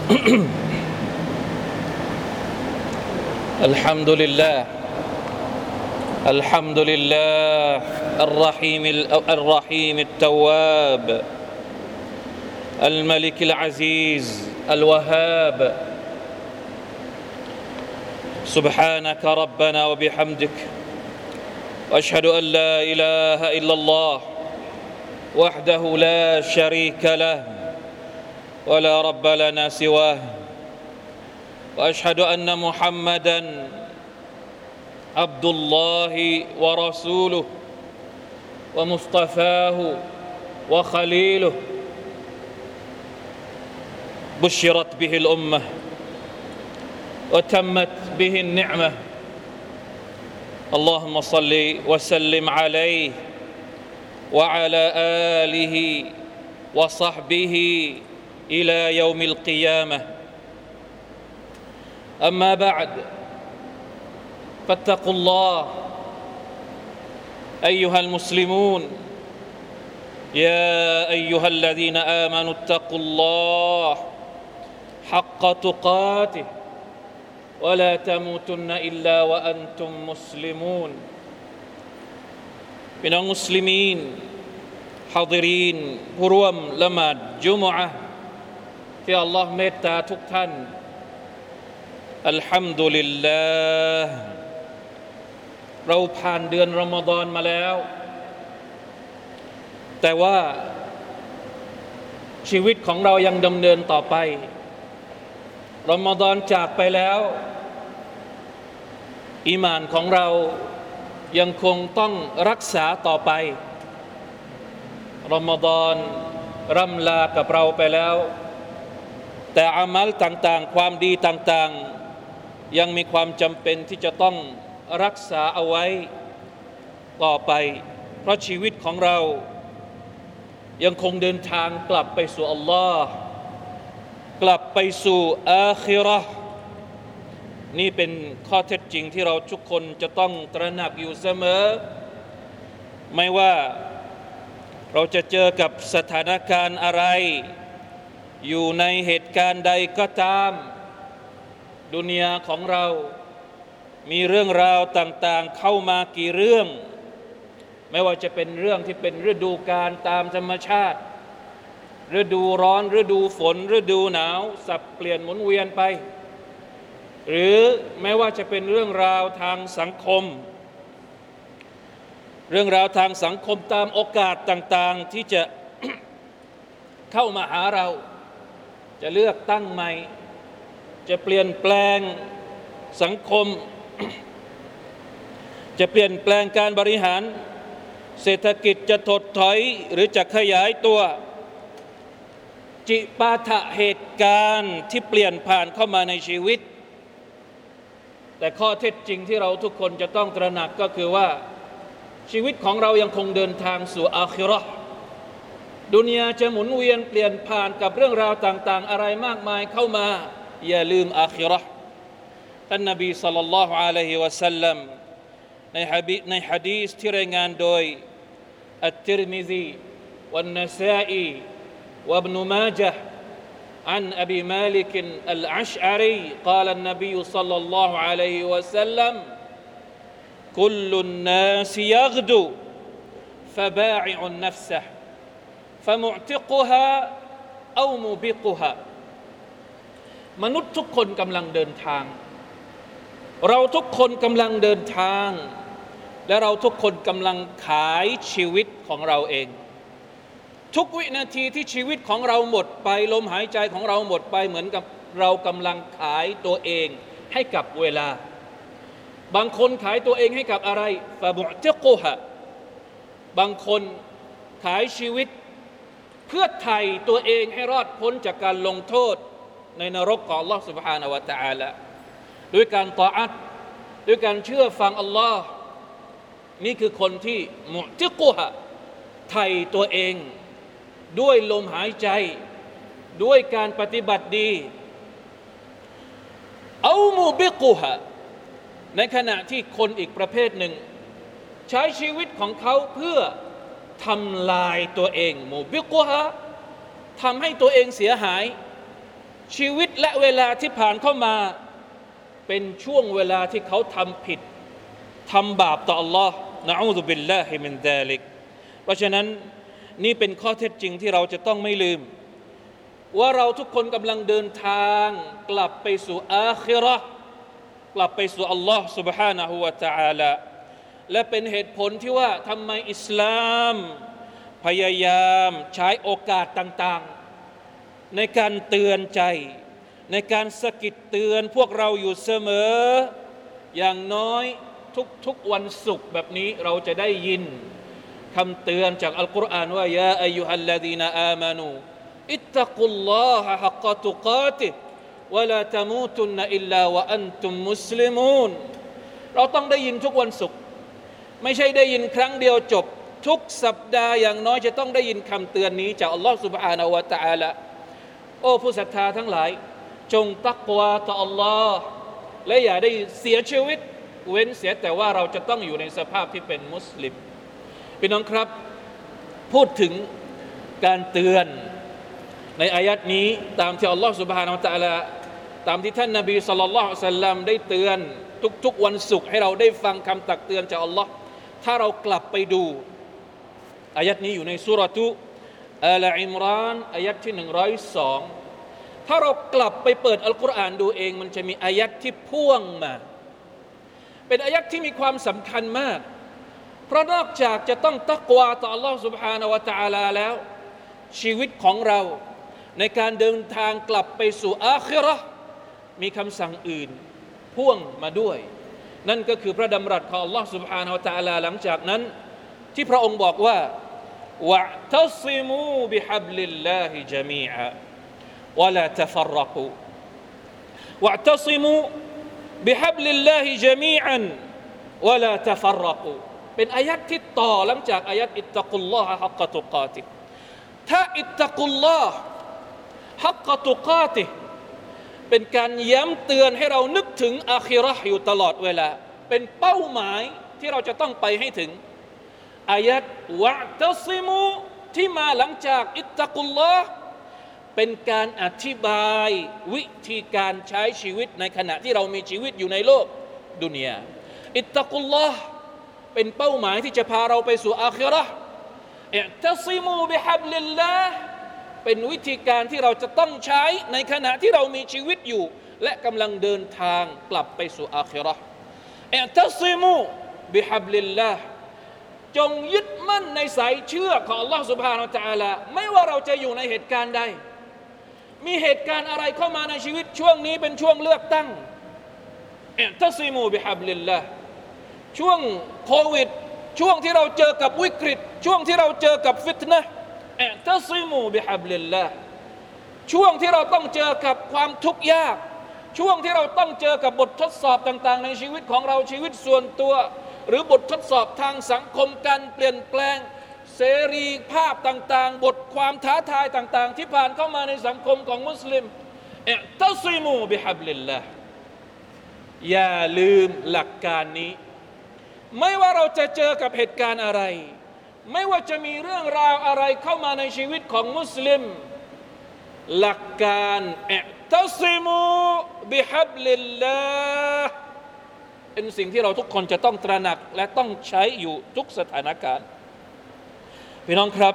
الحمد لله الحمد لله الرحيم التواب الملك العزيز الوهاب سبحانك ربنا وبحمدك واشهد ان لا اله الا الله وحده لا شريك له ولا رب لنا سواه واشهد ان محمدا عبد الله ورسوله ومصطفاه وخليله بشرت به الامه وتمت به النعمه اللهم صل وسلم عليه وعلى اله وصحبه الى يوم القيامه اما بعد فاتقوا الله ايها المسلمون يا ايها الذين امنوا اتقوا الله حق تقاته ولا تموتن الا وانتم مسلمون พี่น้องมุสลิมีนฮาดิรีนผู้ร่วมละหมาดจุมอะห์ที่อัลลอฮ์เมตตาทุกท่านอัลฮัมดุลิลลาห์เราผ่านเดือนรอมฎอนมาแล้วแต่ว่าชีวิตของเรายังดำเนินต่อไปรอมฎอนจากไปแล้วอีหม่านของเรายังคงต้องรักษาต่อไปรอมฎอนร่ำลากับเราไปแล้วแต่อามัลต่างๆความดีต่างๆยังมีความจำเป็นที่จะต้องรักษาเอาไว้ต่อไปเพราะชีวิตของเรายังคงเดินทางกลับไปสู่อัลลอฮ์กลับไปสู่อาคิเราะห์นี่เป็นข้อเท็จจริงที่เราทุกคนจะต้องตระหนักอยู่เสมอไม่ว่าเราจะเจอกับสถานการณ์อะไรอยู่ในเหตุการณ์ใดก็ตามดุนยาของเรามีเรื่องราวต่างๆเข้ามากี่เรื่องไม่ว่าจะเป็นเรื่องที่เป็นฤดูกาลตามธรรมชาติฤดูร้อนฤดูฝนฤดูหนาวสับเปลี่ยนหมุนเวียนไปหรือไม่ว่าจะเป็นเรื่องราวทางสังคมเรื่องราวทางสังคมตามโอกาสต่างๆที่จะ เข้ามาหาเราจะเลือกตั้งใหม่จะเปลี่ยนแปลงสังคม จะเปลี่ยนแปลงการบริหารเศรษฐกิจจะถดถอยหรือจะขยายตัวจิปาถะเหตุการณ์ที่เปลี่ยนผ่านเข้ามาในชีวิตแต่ข้อเท็จจริงที่เราทุกคนจะต้องตระหนักก็คือว่าชีวิตของเรายังคงเดินทางสู่อาคิเราะห์ดุนยาจะหมุนเวียนเปลี่ยนผ่านกับเรื่องราวต่างๆอะไรมากมายเข้ามาอย่าลืมอาคิเราะห์ท่านนบีศ็อลลัลลอฮุอะลัยฮิวะซัลลัมในหะดีษที่รายงานโดยอัตติรมิซีวันนะซาอีวะอิบนุมาญะห์ عن أبي مالك الأشعري قال النبي صلى الله عليه وسلم كل الناس يغدو فباعع نفسه فمعتقها أو موبقها มนุษย์ทุกคนกำลังเดินทางเราทุกคนกำลังเดินทางและเราทุกคนกำลังขายชีวิตของเราเองทุกวินาทีที่ชีวิตของเราหมดไปลมหายใจของเราหมดไปเหมือนกับเรากำลังขายตัวเองให้กับเวลาบางคนขายตัวเองให้กับอะไรฟะมุอติกุฮะบางคนขายชีวิตเพื่อไถ่ตัวเองให้รอดพ้นจากการลงโทษในนรกของอัลลอฮฺ سبحانه และ تعالى ด้วยการตออะห์ด้วยการเชื่อฟังอัลลอฮ์นี่คือคนที่มุอติกุฮะไถ่ตัวเองด้วยลมหายใจด้วยการปฏิบัติดีเอามูบิกุฮะในขณะที่คนอีกประเภทหนึ่งใช้ชีวิตของเขาเพื่อทำลายตัวเองมูบิกุฮะทำให้ตัวเองเสียหายชีวิตและเวลาที่ผ่านเข้ามาเป็นช่วงเวลาที่เขาทำผิดทำบาปต่อ Allah นะอูซุบิลลาฮิมินซาลิกเพราะฉะนั้นนี่เป็นข้อเท็จจริงที่เราจะต้องไม่ลืมว่าเราทุกคนกำลังเดินทางกลับไปสู่อาคิเราะห์กลับไปสู่ Allah سبحانه และ تعالى และเป็นเหตุผลที่ว่าทำไมอิสลามพยายามใช้โอกาสต่างๆในการเตือนใจในการสะกิดเตือนพวกเราอยู่เสมออย่างน้อยทุกวันศุกร์แบบนี้เราจะได้ยินคำเตือนจากอัลกุรอานว่ายาอัยยูฮัลลดีนอามานูอิตตักุลลอฮะฮักกะตุกาติฮ์วะลาตะมูตุนอิลลาวะอันตุมมุสลิมูนเราต้องได้ยินทุกวันศุกร์ไม่ใช่ได้ยินครั้งเดียวจบทุกสัปดาห์อย่างน้อยจะต้องได้ยินคำเตือนนี้จากอัลลอฮฺ سبحانه และ تعالى โอ้ผู้ศรัทธาทั้งหลายจงตักวาต่ออัลลอฮ์และอย่าได้เสียชีวิตเว้นเสียแต่ว่าเราจะต้องอยู่ในสภาพที่เป็นมุสลิมพี่น้องครับพูดถึงการเตือนในอายัดนี้ตามที่อัลลอฮฺ سبحانه และ تعالى ตามที่ท่านนบีศ็อลลัลลอฮุอะลัยฮิวะซัลลัมได้เตือนทุกวันศุกร์ให้เราได้ฟังคำตักเตือนจากอัลลอฮ์ถ้าเรากลับไปดูอายัดนี้อยู่ในซูเราะตุอาลอิมรานอายัดที่102ถ้าเรากลับไปเปิดอัลกุรอานดูเองมันจะมีอายัดที่พ่วงมาเป็นอายัดที่มีความสำคัญมากเพราะนอกจากจะต้องตักวาต่อ Allah سبحانه และ تعالى แล้วชีวิตของเราในการเดินทางกลับไปสู่อาคิเราะห์มีคำสั่งอื่นพ่วงมาด้วยนั่นก็คือพระดำรัสของ Allah سبحانه และ تعالى หลังจากนั้นที่พระองค์บอกว่าวะตัซิมูบิฮับลิลลาฮิญะมีอะวะลาตะฟัรรกูวะตัซิมูบิฮับลิลลาฮิญะมีอันวะลาตะฟัรรกูเป็นอายัดที่ต่อหลังจากอายัดอิตตักุลลอฮะฮักกะตุกาติฮ์ถ้าอิตตักุลลอฮะฮักกะตุกาติฮ์เป็นการย้ำเตือนให้เรานึกถึงอาคิเราะห์อยู่ตลอดเวลาเป็นเป้าหมายที่เราจะต้องไปให้ถึงอายัดวะตัซิมูที่มาหลังจากอิตตักุลลอฮ์เป็นการอธิบายวิธีการใช้ชีวิตในขณะที่เรามีชีวิตอยู่ในโลกดุนยาอิตตักุลลอฮ์เป็นเป้าหมายที่จะพาเราไปสู่อาคิเราะห์อิตัซิมูบิฮับลิลลาห์เป็นวิธีการที่เราจะต้องใช้ในขณะที่เรามีชีวิตอยู่และกำลังเดินทางกลับไปสู่อาคิเราะห์อิตัซิมูบิฮับลิลลาห์จงยึดมั่นในสายเชือกของ Allah سبحانه และ تعالى ไม่ว่าเราจะอยู่ในเหตุการณ์ใดมีเหตุการณ์อะไรเข้ามาในชีวิตช่วงนี้เป็นช่วงเลือกตั้งอิตัซิมูบิฮับลิลลาห์ช่วงโควิดช่วงที่เราเจอกับวิกฤตช่วงที่เราเจอกับฟิตนะห์อิตัซิมูบิฮับลิลลาห์ช่วงที่เราต้องเจอกับความทุกข์ยากช่วงที่เราต้องเจอกับบททดสอบต่างๆในชีวิตของเราชีวิตส่วนตัวหรือบททดสอบทางสังคมการเปลี่ยนแปลงเสรีภาพต่างๆบทความท้าทายต่างๆที่ผ่านเข้ามาในสังคมของมุสลิมอิตัซิมูบิฮับลิลลาห์อย่าลืมหลักการนี้ไม่ว่าเราจะเจอกับเหตุการณ์อะไรไม่ว่าจะมีเรื่องราวอะไรเข้ามาในชีวิตของมุสลิมหลักการอิตัซิมูบิฮับลิลลาห์เป็นสิ่งที่เราทุกคนจะต้องตระหนักและต้องใช้อยู่ทุกสถานการณ์พี่น้องครับ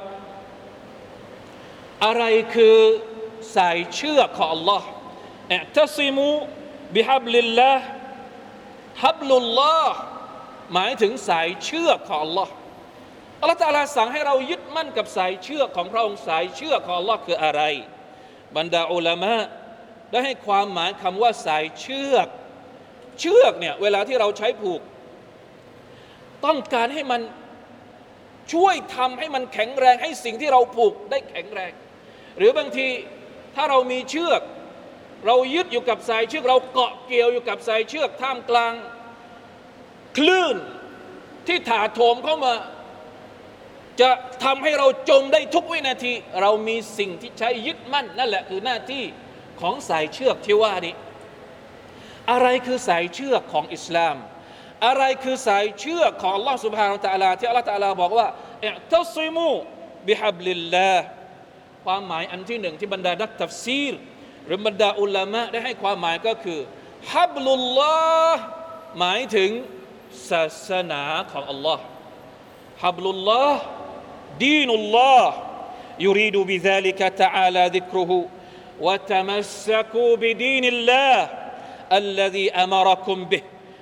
อะไรคือสายเชือกของ Allah อิตัซิมูบิฮับลิลลาห์ฮับลุลลอฮ์หมายถึงสายเชือกของ Allah อัลเลาะห์ตะอาลาสั่งให้เรายึดมั่นกับสายเชือกของพระองค์สายเชือกของ Allah คืออะไรบรรดาอุลามะได้ให้ความหมายคำว่าสายเชือกเนี่ยเวลาที่เราใช้ผูกต้องการให้มันช่วยทำให้มันแข็งแรงให้สิ่งที่เราผูกได้แข็งแรงหรือบางทีถ้าเรามีเชือกเรายึดอยู่กับสายเชือกเราเกาะเกี่ยวอยู่กับสายเชือกท่ามกลางคลื่นที่ถาโถมเข้ามาจะทำให้เราจมได้ทุกวินาทีเรามีสิ่งที่ใช้ยึดมั่นนั่นแหละคือหน้าที่ของสายเชือกที่ว่านี้อะไรคือสายเชือกของอิสลามอะไรคือสายเชือกของ Allah سبحانه และ تعالى ที่ Allah تعالى บอกว่าอิตัซิมูบิฮับลิลลาห์ความหมายอันที่หนึ่งที่บรรดานักตัฟซีรหรือบรรดาอุลามะได้ให้ความหมายก็คือฮับลุลลอฮ์หมายถึงศาสนาของอัลลอฮ์ฮับลุลลอฮ์ดีนุลลอฮ์ يريد بذلك تعالى ذكره وتمسكوا بدين الله الذي أمركم به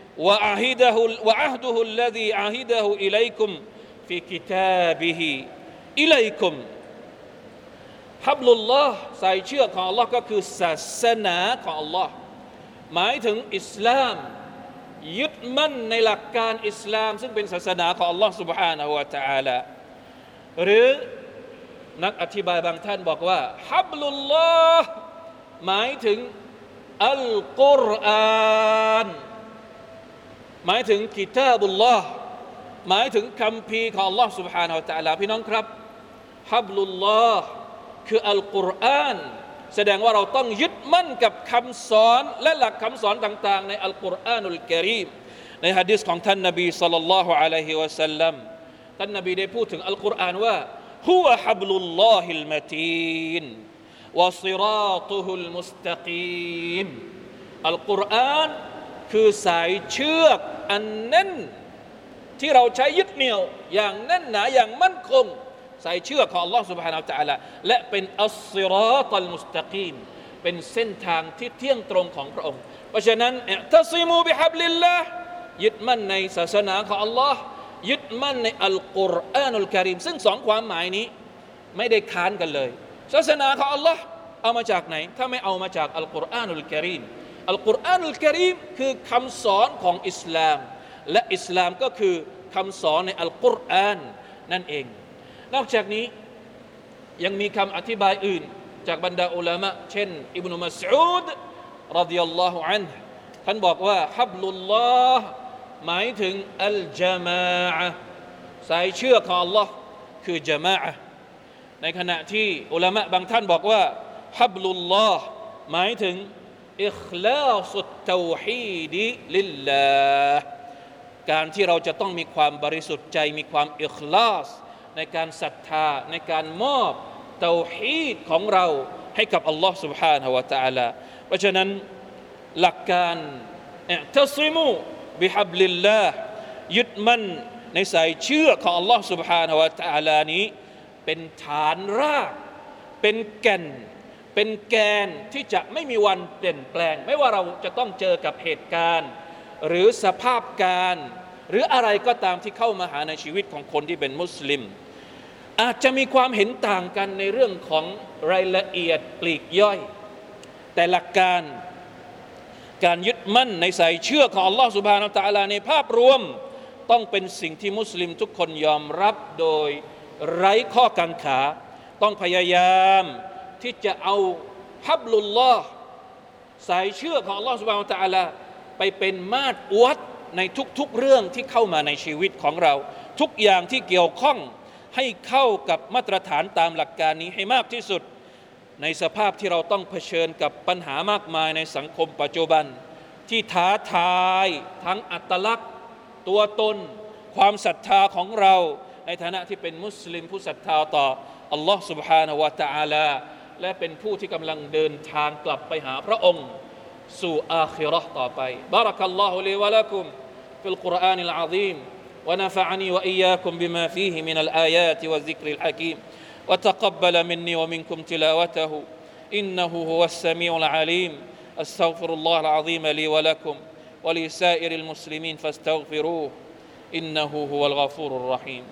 وعهده الذي عهده إليكم في كتابه إليكم ฮับลุลลอฮ์สายเชือกของ Allah ก็คือศาสนาของ Allah หมายถึงอิสลามยึดมั่นในหลักการอิสลามซึ่งเป็นศาสนาของ Allah سبحانه และ تعالى หรือนักอธิบายบางท่านบอกว่าฮับลุลลอฮ์หมายถึงอัลกุรอานหมายถึงกิตาบุลลอฮ์หมายถึงคัมภีร์ของ Allah سبحانه และ تعالى พี่น้องครับฮับลุลลอฮ์คืออัลกุรอานแสดงว่าเราต้องยึดมั่นกับคำสอนและหลักคำสอนต่างๆในอัลกุรอานุลกะรีมในหะดีษของท่านนบีศ็อลลัลลอฮุอะลัยฮิวะซัลลัมท่านนบีได้พูดถึงอัลกุรอานว่าฮุวะฮับลุลลอฮิลมะตีนวะศิราตุฮุลมุสตะกีมอัลกุรอานคือสายเชือกอันแน่นที่เราใช้ยึดเหนี่ยวอย่างแน่นหนาอย่างมั่นคงสายเชือกของ Allah سبحانه และ تعالى และเป็นอัสศิราตัลมุสตะกีมเป็นเส้นทางที่เที่ยงตรงของพระองค์เพราะฉะนั้นอิอ์ตัซิมูบิฮับลิลลาห์ยึดมั่นในศาสนาของ Allah ยึดมั่นในอัลกุรอานุลกะรีมซึ่งสองความหมายนี้ไม่ได้ค้านกันเลยศาสนาของ Allah เอามาจากไหนถ้าไม่เอามาจากอัลกุรอานุลกะรีมอัลกุรอานุลกะรีมคือคำสอนของอิสลามและอิสลามก็คือคำสอนในอัลกุรอานนั่นเองนอกจากนี้ยังมีคำอธิบายอื่นจากบรรดาอุลามะเช่นอิบนุมัสอูดรฎิยัลลอฮุอันฮุท่านบอกว่าฮับลุลลอฮ์หมายถึงอัลญะมาอะห์สายเชือกของ Allah คือญะมาอะห์ในขณะที่อุลามะบางท่านบอกว่าฮับลุลลอฮ์หมายถึงอิคลาสุตเตาฮีดลิลลาห์การที่เราจะต้องมีความบริสุทธิ์ใจมีความอิคลาสในการศรัทธาในการมอบเตาฮีดของเราให้กับอัลลอฮ์ سبحانه และ تعالى เพราะฉะนั้นหลักการอิอ์ตัซิมูบิฮับลิลลาห์ยึดมั่นในสายเชือกของอัลลอฮ์ سبحانه และ تعالى นี้เป็นฐานรากเป็นแก่นเป็นแกนที่จะไม่มีวันเปลี่ยนแปลงไม่ว่าเราจะต้องเจอกับเหตุการณ์หรือสภาพการหรืออะไรก็ตามที่เข้ามาหาในชีวิตของคนที่เป็นมุสลิมอาจจะมีความเห็นต่างกันในเรื่องของรายละเอียดปลีกย่อยแต่หลักการยึดมั่นในสายเชือกของ Allah سبحانه และ تعالى ในภาพรวมต้องเป็นสิ่งที่มุสลิมทุกคนยอมรับโดยไร้ข้อกังขาต้องพยายามที่จะเอาฮับลุลลอฮ์สายเชือกของ Allah سبحانه และ تعالى ไปเป็นมาตรวัดในทุกๆเรื่องที่เข้ามาในชีวิตของเราทุกอย่างที่เกี่ยวข้องให้เข้ากับมาตรฐานตามหลักการนี้ให้มากที่สุดในสภาพที่เราต้องเผชิญกับปัญหามากมายในสังคมปัจจุบันที่ท้าทายทั้งอัตลักษณ์ตัวตนความศรัทธาของเราในฐานะที่เป็นมุสลิมผู้ศรัทธาต่ออัลลอฮ์ سبحانه และ تعالى และเป็นผู้ที่กำลังเดินทางกลับไปหาพระองค์สู่อาคิเราะห์ต่อไปบารักัลลอฮุลีวะละกุมฟิลกุรอานิลอะซีมونفعني وإياكم بما فيه من الآيات والذكر الحكيم وتقبل مني ومنكم تلاوته إنه هو السميع العليم أستغفر الله العظيم لي ولكم ولسائر المسلمين فاستغفروه إنه هو الغفور الرحيم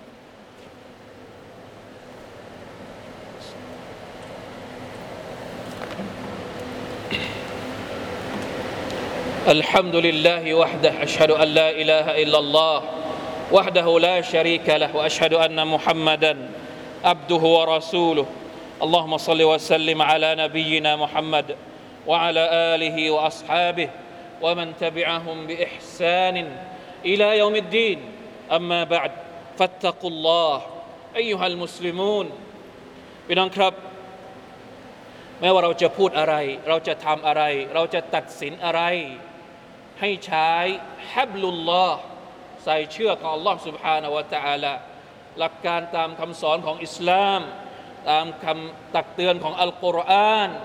الحمد لله وحده أشهد أن لا إله إلا الله وحده لا شريك له وأشهد أن محمدا عبده ورسوله اللهم صل وسلم على نبينا محمد وعلى آله وأصحابه ومن تبعهم بإحسان إلى يوم الدين أما بعد فاتقوا الله أيها المسلمون พี่น้องครับไม่ว่าเราจะพูดอะไรเราจะทำอะไรเราจะตัดสินอะไรให้ใช้ฮับลุลลอฮ์ใส่เชือกของ Allah سبحانه และ تعالى หลักการตามคำสอนของอิสลามตามคำตักเตือนของอัลกุรอาน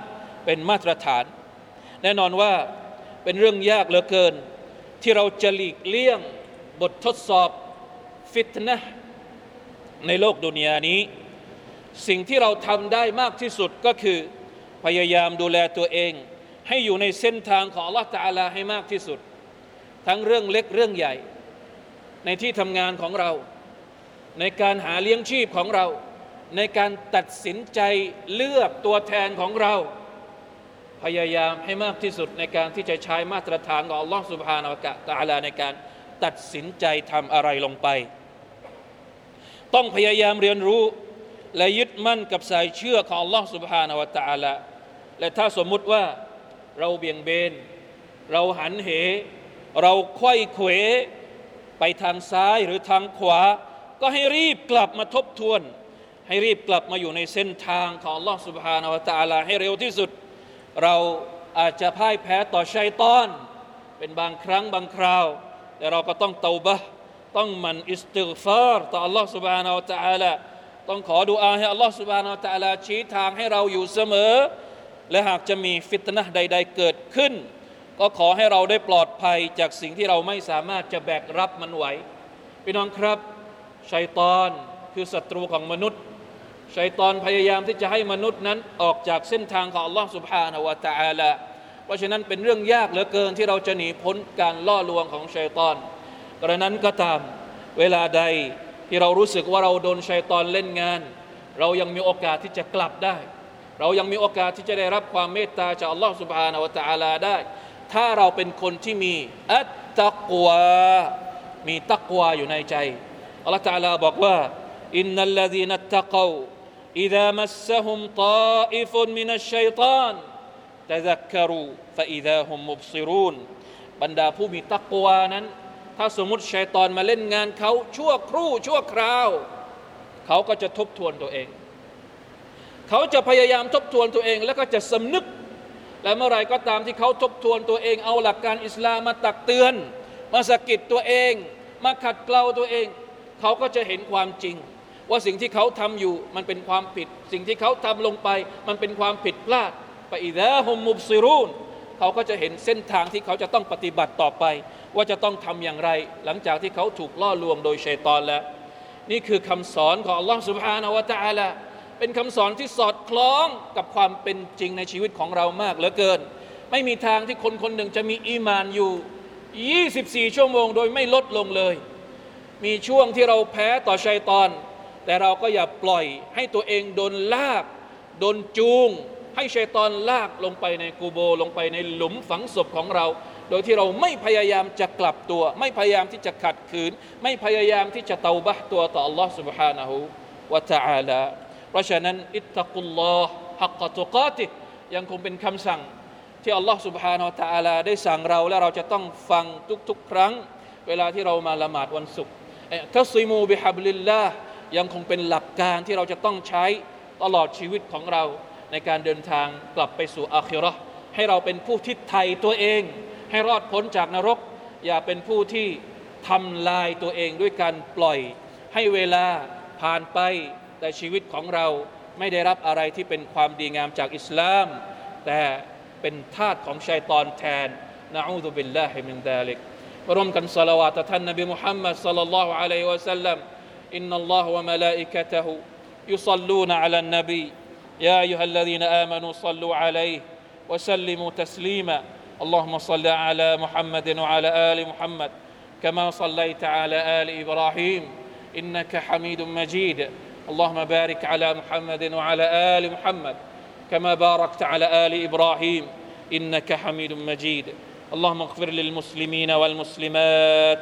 เป็นมาตรฐานแน่นอนว่าเป็นเรื่องยากเหลือเกินที่เราจะหลีกเลี่ยงบททดสอบฟิตนะห์ในโลกดุนยานี้สิ่งที่เราทำได้มากที่สุดก็คือพยายามดูแลตัวเองให้อยู่ในเส้นทางของอัลเลาะห์ตะอาลาให้มากที่สุดทั้งเรื่องเล็กเรื่องใหญ่ในที่ทำงานของเราในการหาเลี้ยงชีพของเราในการตัดสินใจเลือกตัวแทนของเราพยายามให้มากที่สุดในการที่จะใช้มาตรฐานของอัลลอฮฺซุบฮานะฮูวะตะอาลาในการตัดสินใจทำอะไรลงไปต้องพยายามเรียนรู้และยึดมั่นกับสายเชื่อของอัลลอฮฺซุบฮานะฮูวะตะอาลาและถ้าสมมุติว่าเราเบี่ยงเบนเราหันเหเราไขว้เขวไปทางซ้ายหรือทางขวาก็ให้รีบกลับมาทบทวนให้รีบกลับมาอยู่ในเส้นทางของอัลลอฮฺซุบฮานะฮูวะตะอาลาให้เร็วที่สุดเราอาจจะพ่ายแพ้ต่อชัยฏอนเป็นบางครั้งบางคราวแต่เราก็ต้องเตาบะห์ต้องหมั่นอิสติฆฟารต่ออัลลอฮฺซุบฮานะฮูวะตะอาลาต้องขอดุอาให้อัลลอฮฺซุบฮานะฮูวะตะอาลาชี้ทางให้เราอยู่เสมอและหากจะมีฟิตนะห์ใดๆเกิดขึ้นก็ขอให้เราได้ปลอดภัยจากสิ่งที่เราไม่สามารถจะแบกรับมันไหวพี่น้องครับชัยฏอนคือศัตรูของมนุษย์ชัยฏอนพยายามที่จะให้มนุษย์นั้นออกจากเส้นทางของอัลลอฮฺซุบฮานะฮูวะตะอาลาเพราะฉะนั้นเป็นเรื่องยากเหลือเกินที่เราจะหนีพ้นการล่อลวงของชัยฏอนกระนั้นก็ตามเวลาใดที่เรารู้สึกว่าเราโดนชัยฏอนเล่นงานเรายังมีโอกาสที่จะกลับได้เรายังมีโอกาสที่จะได้รับความเมตตาจากอัลลอฮฺซุบฮานะฮูวะตะอาลาได้ถ้าเราเป็นคนที่มีอัตตักวามีตักวาอยู่ในใจอัลลอฮฺตะอาลาบอกว่าอินนัลลซีนัตตะกวอิซามัสซะฮุมฏาอิฟุนมินัชชัยฏอนตะซักกะรูฟะอิซาฮุมมุบซิรูนบรรดาผู้มีตักวานั้นถ้าสมมุติชัยฏอนมาเล่นงานเขาชั่วครู่ชั่วคราวเขาก็จะทบทวนตัวเองเขาจะพยายามทบทวนตัวเองแล้วก็จะสำนึกและเมื่อไรก็ตามที่เขาทบทวนตัวเองเอาหลักการอิสลามมาตักเตือนมาสะกิดตัวเองมาขัดเกลาตัวเองเขาก็จะเห็นความจริงว่าสิ่งที่เขาทำอยู่มันเป็นความผิดสิ่งที่เขาทำลงไปมันเป็นความผิดพลาดฟะอิซาฮุมมุบซิรูนเขาก็จะเห็นเส้นทางที่เขาจะต้องปฏิบัติต่อไปว่าจะต้องทำอย่างไรหลังจากที่เขาถูกล่อลวงโดยชัยฏอนแล้วนี่คือคำสอนของอัลลอฮฺซุบฮานะฮูวะตะอาลาเป็นคำสอนที่สอดคล้องกับความเป็นจริงในชีวิตของเรามากเหลือเกินไม่มีทางที่คนคนหนึ่งจะมีอีหม่านอยู่24ชั่วโมงโดยไม่ลดลงเลยมีช่วงที่เราแพ้ต่อชัยฏอนแต่เราก็อย่าปล่อยให้ตัวเองโดนลากโดนจูงให้ชัยฏอนลากลงไปในกูโบลงไปในหลุมฝังศพของเราโดยที่เราไม่พยายามจะกลับตัวไม่พยายามที่จะขัดขืนไม่พยายามที่จะเตาบะห์ตัวต่อ Allah Subhanahu wa Ta'ala เพราะฉะนั้นอิตตักุลลอฮ์ฮักกะตุกาติฮ์ยังคงเป็นคำสั่งที่ Allah Subhanahu wa Ta'ala ได้สั่งเราและเราจะต้องฟังทุกๆครั้งเวลาที่เรามาละหมาดวันศุกร์ตัสซิมูบิฮับลิลลาห์ยังคงเป็นหลักการที่เราจะต้องใช้ตลอดชีวิตของเราในการเดินทางกลับไปสู่อาคิเราะห์ให้เราเป็นผู้ที่ไถ่ตัวเองให้รอดพ้นจากนรกอย่าเป็นผู้ที่ทำลายตัวเองด้วยการปล่อยให้เวลาผ่านไปแต่ชีวิตของเราไม่ได้รับอะไรที่เป็นความดีงามจากอิสลามแต่เป็นทาสของชัยฏอนแทนนะอูซุบิลลาฮิมินซาลิกร่วมกันศอลาวาตท่านนบีมุฮัมมัดศ็อลลัลลอฮุอะลัยฮิวะซัลลัมอินนัลลอฮะวะมะลาอิกะตะฮุยุศ็อลลูนอะลันนบียาอัยยูฮัลลซีนอามานูศ็อลลูอะลัยฮิวะซัลลิมูตัสลีมา اللهم صل على محمد وعلى آل محمد كما صليت على آل إبراهيم إنك حميد مجيد اللهم بارك على محمد وعلى آل محمد كما باركت على آل إبراهيم إنك حميد مجيد اللهم اغفر للمسلمين والمسلمات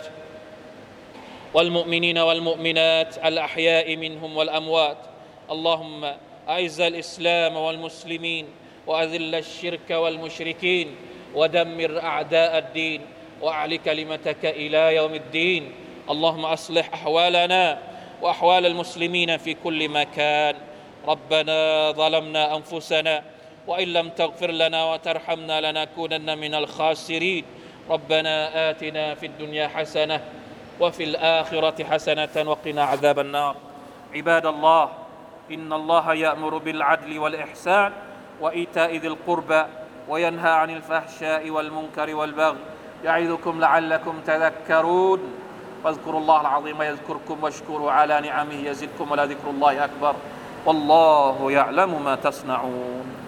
والمؤمنين والمؤمنات الأحياء منهم والأموات اللهم أعز الإسلام والمسلمين وأذل الشرك والمشركين ودمر أعداء الدين وأعل كلمتك إلى يوم الدين اللهم أصلح أحوالنا وأحوال المسلمين في كل مكان ربنا ظلمنا أنفسنا وإن لم تغفر لنا وترحمنا لنكونن من الخاسرين ربنا آتنا في الدنيا حسنة وفي الآخرة حسنة وقنا عذاب النار عباد الله إن الله يأمر بالعدل والإحسان وإيتاء ذي القربى وينهى عن الفحشاء والمنكر والبغي يعظكم لعلكم تذكرون فاذكروا الله العظيم يذكركم واشكروا على نعمه يزدكم ولذكر الله أكبر والله يعلم ما تصنعون